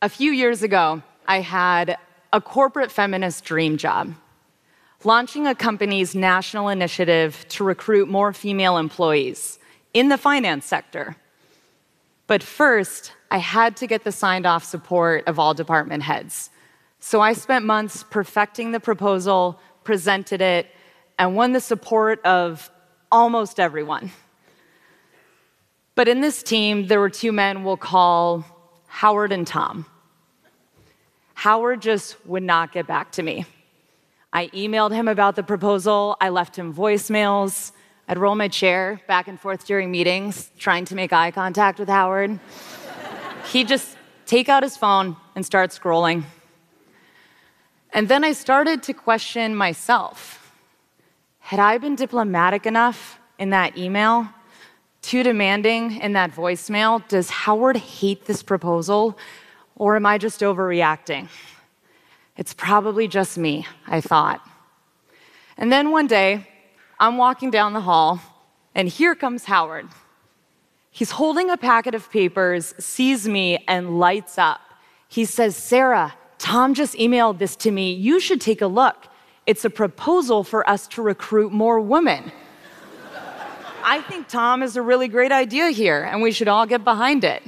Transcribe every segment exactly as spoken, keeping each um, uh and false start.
A few years ago, I had a corporate feminist dream job, launching a company's national initiative to recruit more female employees in the finance sector. But first, I had to get the signed-off support of all department heads. So I spent months perfecting the proposal, presented it, and won the support of almost everyone. But in this team, there were two men we'll call Howard and Tom. Howard just would not get back to me. I emailed him about the proposal, I left him voicemails, I'd roll my chair back and forth during meetings, trying to make eye contact with Howard. He'd just take out his phone and start scrolling. And then I started to question myself. Had I been diplomatic enough in that email? Too demanding in that voicemail? Does Howard hate this proposal? Or am I just overreacting? It's probably just me, I thought. And then one day, I'm walking down the hall, and here comes Howard. He's holding a packet of papers, sees me, and lights up. He says, "Sarah, Tom just emailed this to me. You should take a look. It's a proposal for us to recruit more women." I think Tom has a really great idea here, and we should all get behind it.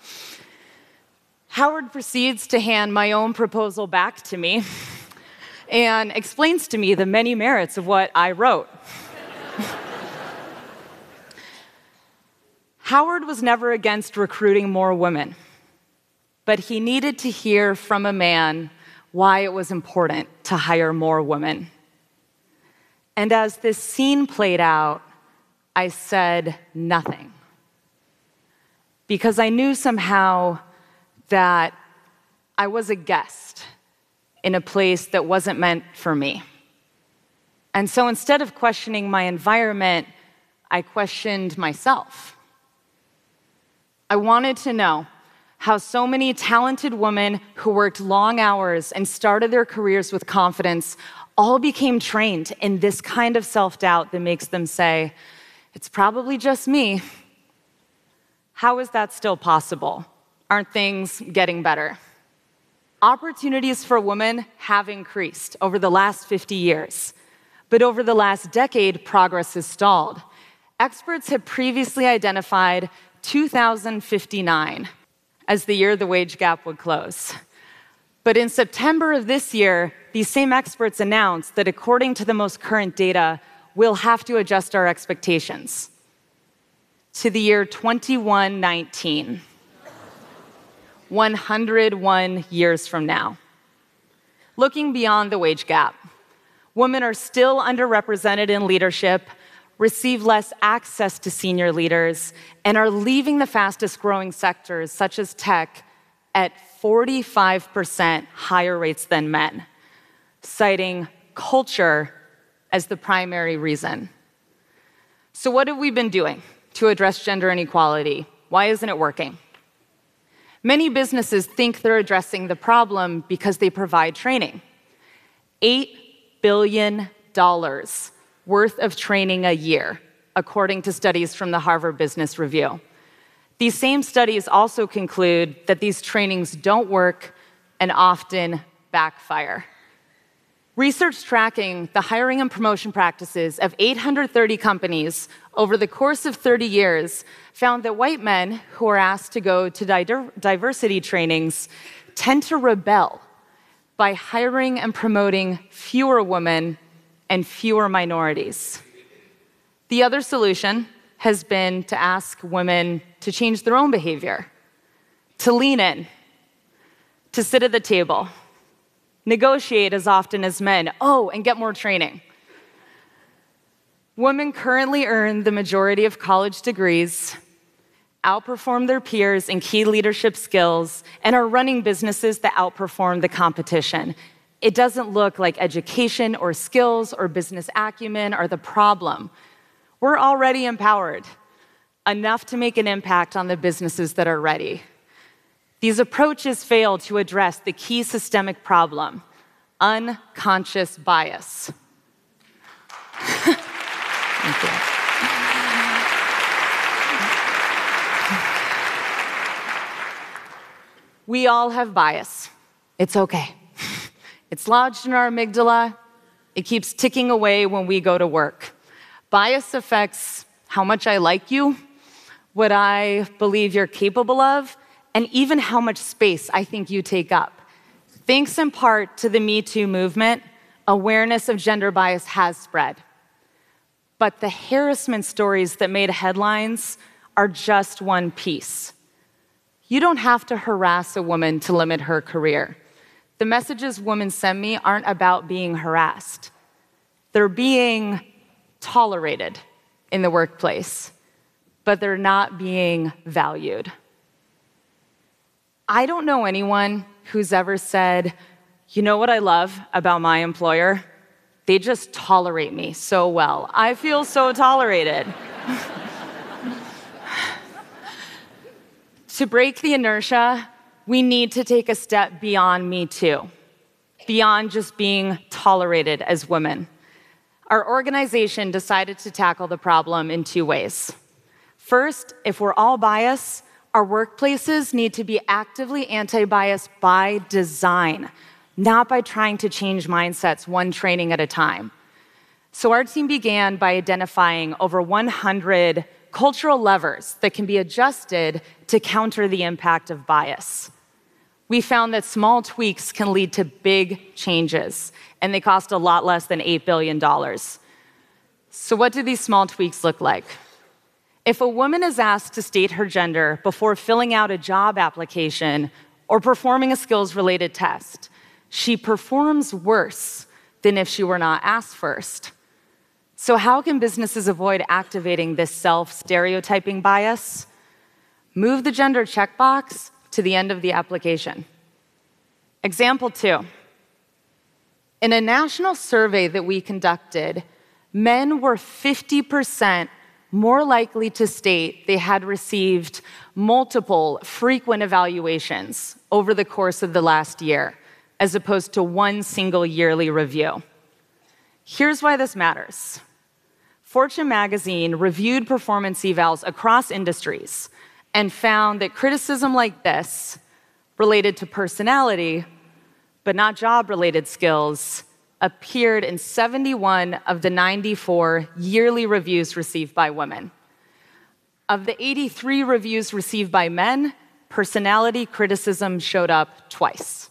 Howard proceeds to hand my own proposal back to me and explains to me the many merits of what I wrote. Howard was never against recruiting more women, but he needed to hear from a man why it was important to hire more women. And as this scene played out, I said nothing, because I knew somehow that I was a guest in a place that wasn't meant for me. And so instead of questioning my environment, I questioned myself. I wanted to know how so many talented women who worked long hours and started their careers with confidence all became trained in this kind of self-doubt that makes them say, "It's probably just me." How is that still possible? Aren't things getting better? Opportunities for women have increased over the last fifty years, but over the last decade, progress has stalled. Experts had previously identified two thousand fifty-nine as the year the wage gap would close. But in September of this year, these same experts announced that according to the most current data, we'll have to adjust our expectations to the year twenty-one nineteen. one hundred one years from now. Looking beyond the wage gap, women are still underrepresented in leadership, receive less access to senior leaders, and are leaving the fastest growing sectors, such as tech, at forty-five percent higher rates than men, citing culture as the primary reason. So what have we been doing to address gender inequality? Why isn't it working? Many businesses think they're addressing the problem because they provide training. eight billion dollars worth of training a year, according to studies from the Harvard Business Review. These same studies also conclude that these trainings don't work and often backfire. Research tracking the hiring and promotion practices of eight hundred thirty companies over the course of thirty years found that white men who are asked to go to diversity trainings tend to rebel by hiring and promoting fewer women and fewer minorities. The other solution has been to ask women to change their own behavior, to lean in, to sit at the table, negotiate as often as men, oh, and get more training. Women currently earn the majority of college degrees, outperform their peers in key leadership skills, and are running businesses that outperform the competition. It doesn't look like education or skills or business acumen are the problem. We're already empowered, enough to make an impact on the businesses that are ready. These approaches fail to address the key systemic problem, unconscious bias. Thank you. We all have bias. It's okay. It's lodged in our amygdala. It keeps ticking away when we go to work. Bias affects how much I like you, what I believe you're capable of, and even how much space I think you take up. Thanks in part to the Me Too movement, awareness of gender bias has spread. But the harassment stories that made headlines are just one piece. You don't have to harass a woman to limit her career. The messages women send me aren't about being harassed. They're being tolerated in the workplace, but they're not being valued. I don't know anyone who's ever said, you know what I love about my employer? They just tolerate me so well. I feel so tolerated. To break the inertia, we need to take a step beyond Me Too, beyond just being tolerated as women. Our organization decided to tackle the problem in two ways. First, if we're all biased, our workplaces need to be actively anti-bias by design, not by trying to change mindsets one training at a time. So our team began by identifying over one hundred cultural levers that can be adjusted to counter the impact of bias. We found that small tweaks can lead to big changes, and they cost a lot less than eight billion dollars. So what do these small tweaks look like? If a woman is asked to state her gender before filling out a job application or performing a skills-related test, she performs worse than if she were not asked first. So how can businesses avoid activating this self-stereotyping bias? Move the gender checkbox to the end of the application. Example two. In a national survey that we conducted, men were fifty percent more likely to state they had received multiple frequent evaluations over the course of the last year, as opposed to one single yearly review. Here's why this matters. Fortune magazine reviewed performance evals across industries and found that criticism like this, related to personality, but not job-related skills, appeared in seventy-one of the ninety-four yearly reviews received by women. Of the eighty-three reviews received by men, personality criticism showed up twice.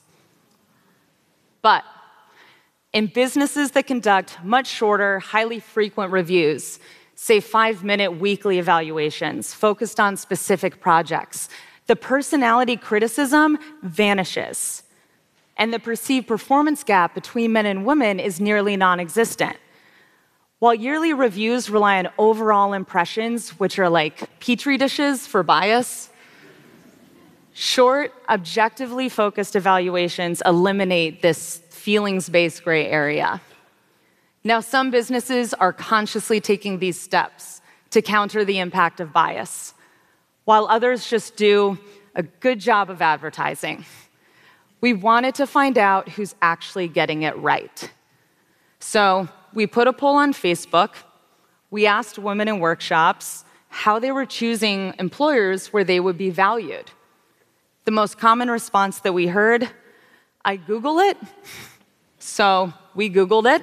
But in businesses that conduct much shorter, highly frequent reviews, say five-minute weekly evaluations focused on specific projects, the personality criticism vanishes, and the perceived performance gap between men and women is nearly non-existent. While yearly reviews rely on overall impressions, which are like petri dishes for bias, short, objectively focused evaluations eliminate this feelings-based gray area. Now, some businesses are consciously taking these steps to counter the impact of bias, while others just do a good job of advertising. We wanted to find out who's actually getting it right. So we put a poll on Facebook. We asked women in workshops how they were choosing employers where they would be valued. The most common response that we heard, I Google it. So we Googled it.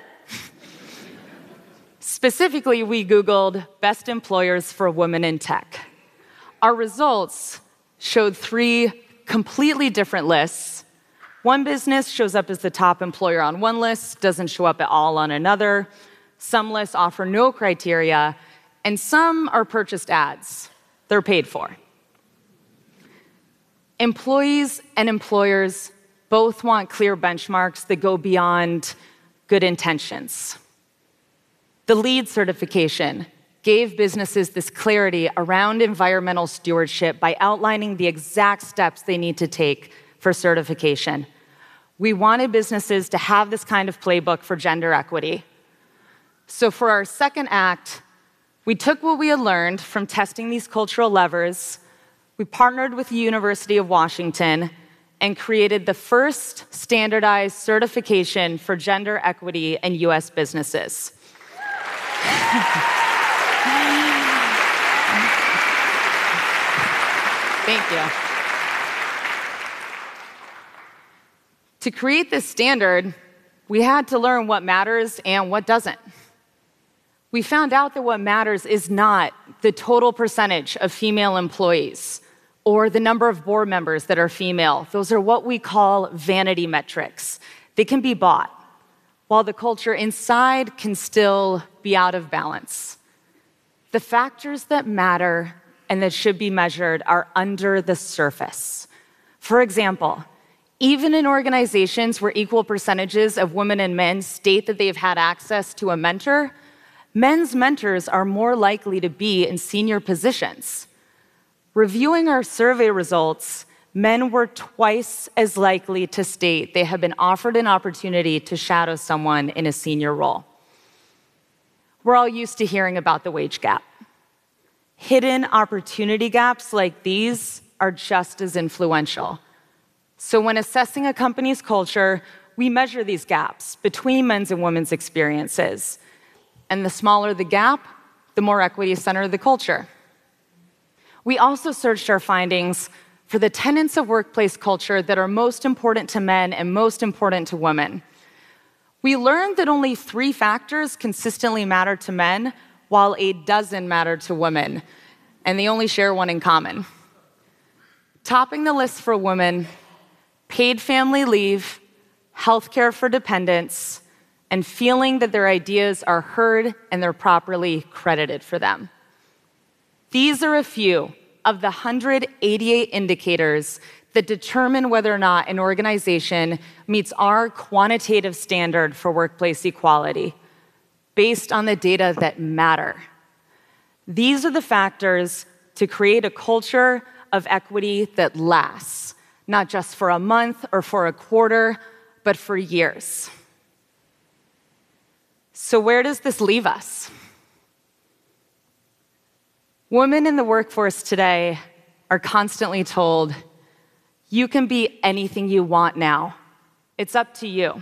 Specifically, we Googled best employers for women in tech. Our results showed three completely different lists. One business shows up as the top employer on one list, doesn't show up at all on another. Some lists offer no criteria, and some are purchased ads. They're paid for. Employees and employers both want clear benchmarks that go beyond good intentions. The LEED certification gave businesses this clarity around environmental stewardship by outlining the exact steps they need to take for certification. We wanted businesses to have this kind of playbook for gender equity. So for our second act, we took what we had learned from testing these cultural levers, we partnered with the University of Washington and created the first standardized certification for gender equity in U S businesses. Thank you. To create this standard, we had to learn what matters and what doesn't. We found out that what matters is not the total percentage of female employees or the number of board members that are female. Those are what we call vanity metrics. They can be bought, while the culture inside can still be out of balance. The factors that matter and that should be measured are under the surface. For example, even in organizations where equal percentages of women and men state that they've had access to a mentor, men's mentors are more likely to be in senior positions. Reviewing our survey results, men were twice as likely to state they have been offered an opportunity to shadow someone in a senior role. We're all used to hearing about the wage gap. Hidden opportunity gaps like these are just as influential. So when assessing a company's culture, we measure these gaps between men's and women's experiences. And the smaller the gap, the more equity-centered the culture. We also searched our findings for the tenets of workplace culture that are most important to men and most important to women. We learned that only three factors consistently matter to men, while a dozen matter to women, and they only share one in common. Topping the list for women, paid family leave, healthcare for dependents, and feeling that their ideas are heard and they're properly credited for them. These are a few of the one hundred eighty-eight indicators that determine whether or not an organization meets our quantitative standard for workplace equality, based on the data that matter. These are the factors to create a culture of equity that lasts, not just for a month or for a quarter, but for years. So where does this leave us? Women in the workforce today are constantly told, you can be anything you want now. It's up to you.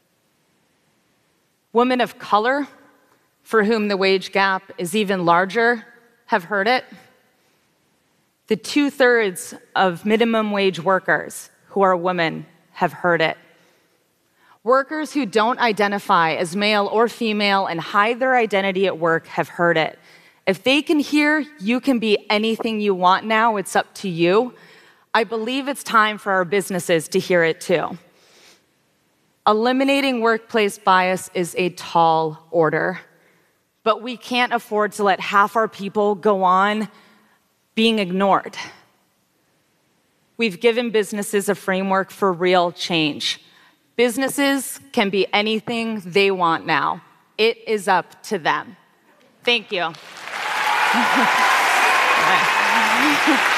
Women of color, for whom the wage gap is even larger, have heard it. The two-thirds of minimum wage workers who are women have heard it. Workers who don't identify as male or female and hide their identity at work have heard it. If they can hear, you can be anything you want now, it's up to you, I believe it's time for our businesses to hear it too. Eliminating workplace bias is a tall order, but we can't afford to let half our people go on being ignored. We've given businesses a framework for real change. Businesses can be anything they want now. It is up to them. Thank you.